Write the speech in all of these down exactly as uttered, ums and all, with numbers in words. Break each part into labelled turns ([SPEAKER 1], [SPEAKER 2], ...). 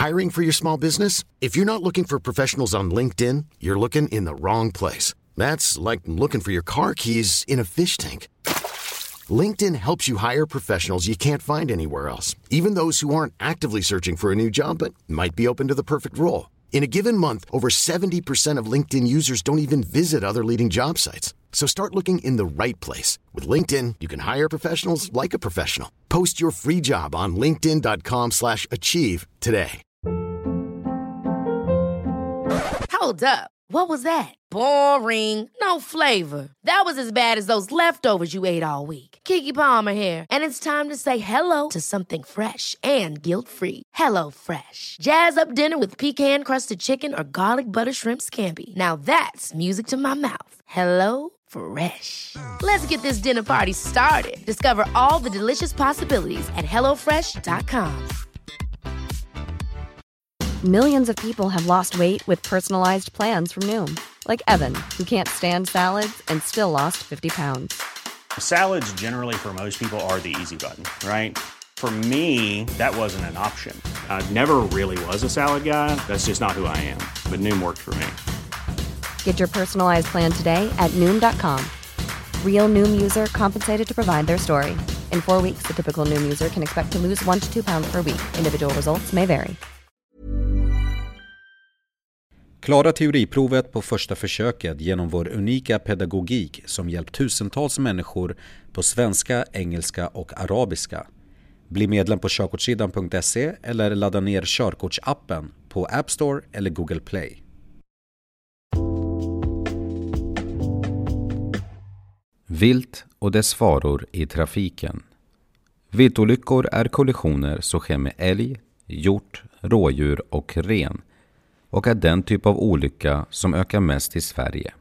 [SPEAKER 1] Hiring for your small business? If you're not looking for professionals on LinkedIn, you're looking in the wrong place. That's like looking for your car keys in a fish tank. LinkedIn helps you hire professionals you can't find anywhere else, even those who aren't actively searching for a new job but might be open to the perfect role. In a given month, over seventy percent of LinkedIn users don't even visit other leading job sites. So start looking in the right place. With LinkedIn, you can hire professionals like a professional. Post your free job on linkedin dot com slash achieve today.
[SPEAKER 2] Hold up. What was that? Boring. No flavor. That was as bad as those leftovers you ate all week. Keke Palmer here, and it's time to say hello to something fresh and guilt-free. Hello Fresh. Jazz up dinner with pecan-crusted chicken or garlic butter shrimp scampi. Now that's music to my mouth. Hello Fresh. Let's get this dinner party started. Discover all the delicious possibilities at hello fresh dot com.
[SPEAKER 3] Millions of people have lost weight with personalized plans from Noom. Like Evan, who can't stand salads and still lost fifty pounds.
[SPEAKER 4] Salads generally for most people are the easy button, right? For me, that wasn't an option. I never really was a salad guy. That's just not who I am. But Noom worked for me.
[SPEAKER 3] Get your personalized plan today at Noom dot com. Real Noom user compensated to provide their story. In four weeks, the typical Noom user can expect to lose one to two pounds per week. Individual results may vary.
[SPEAKER 5] Klara teoriprovet på första försöket genom vår unika pedagogik som hjälpt tusentals människor på svenska, engelska och arabiska. Bli medlem på körkortssidan punkt se eller ladda ner körkortsappen på App Store eller Google Play. Vilt och dess faror i trafiken. Viltolyckor är kollisioner som sker med älg, hjort, rådjur och ren och är den typ av olycka som ökar mest i Sverige.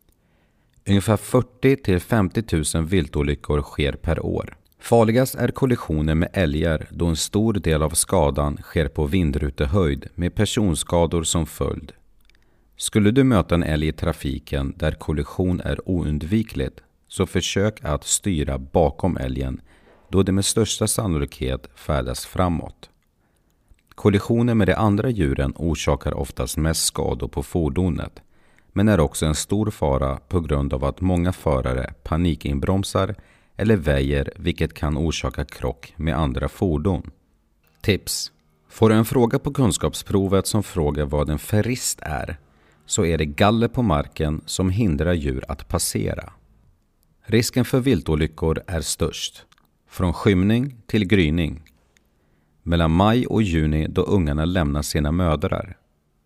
[SPEAKER 5] Ungefär fyrtio till femtio tusen viltolyckor sker per år. Farligast är kollisioner med älgar då en stor del av skadan sker på vindrutehöjd med personskador som följd. Skulle du möta en älg i trafiken där kollision är oundvikligt, så försök att styra bakom älgen då det med största sannolikhet färdas framåt. Kollisioner med de andra djuren orsakar oftast mest skador på fordonet, men är också en stor fara på grund av att många förare panikinbromsar eller väjer, vilket kan orsaka krock med andra fordon. Tips. Får du en fråga på kunskapsprovet som frågar vad en ferrist är, så är det galler på marken som hindrar djur att passera. Risken för viltolyckor är störst från skymning till gryning, mellan maj och juni då ungarna lämnar sina mödrar,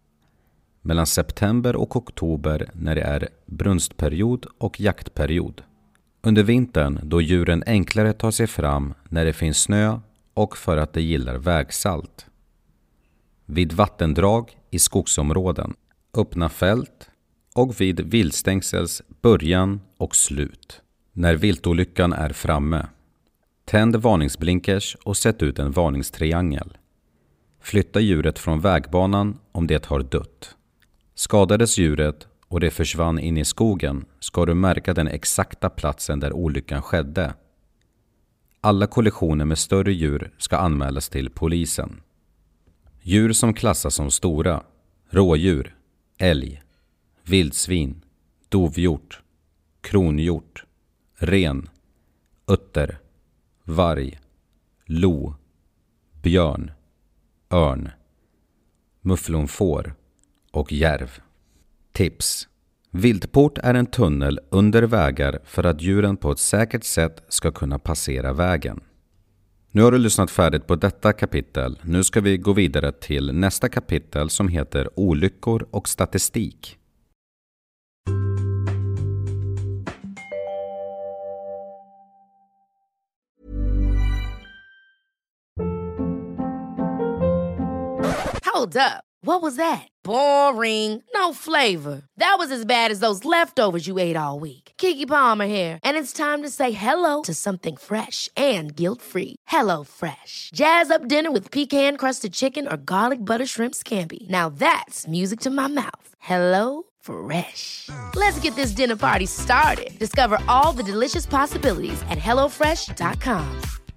[SPEAKER 5] mellan september och oktober när det är brunstperiod och jaktperiod, under vintern då djuren enklare tar sig fram när det finns snö och för att de gillar vägsalt, vid vattendrag i skogsområden, öppna fält och vid viltstängsels början och slut. När viltolyckan är framme, tänd varningsblinkers och sätt ut en varningstriangel. Flytta djuret från vägbanan om det har dött. Skadades djuret och det försvann in i skogen, ska du märka den exakta platsen där olyckan skedde. Alla kollisioner med större djur ska anmälas till polisen. Djur som klassas som stora: rådjur, älg, vildsvin, dovhjort, kronhjort, ren, utter, varg, lo, björn, örn, mufflonfår och järv. Tips. Viltport är en tunnel under vägar för att djuren på ett säkert sätt ska kunna passera vägen. Nu har du lyssnat färdigt på detta kapitel. Nu ska vi gå vidare till nästa kapitel som heter Olyckor och statistik.
[SPEAKER 2] Hold up. What was that? Boring. No flavor. That was as bad as those leftovers you ate all week. Keke Palmer here, and it's time to say hello to something fresh and guilt-free. Hello Fresh. Jazz up dinner with pecan-crusted chicken or garlic butter shrimp scampi. Now that's music to my mouth. Hello Fresh. Let's get this dinner party started. Discover all the delicious possibilities at hello fresh dot com.